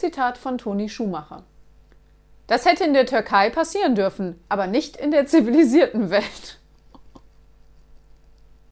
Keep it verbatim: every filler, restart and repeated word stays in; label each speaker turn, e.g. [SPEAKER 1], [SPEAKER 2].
[SPEAKER 1] Zitat von Toni Schumacher. Das hätte in der Türkei passieren dürfen, aber nicht in der zivilisierten Welt.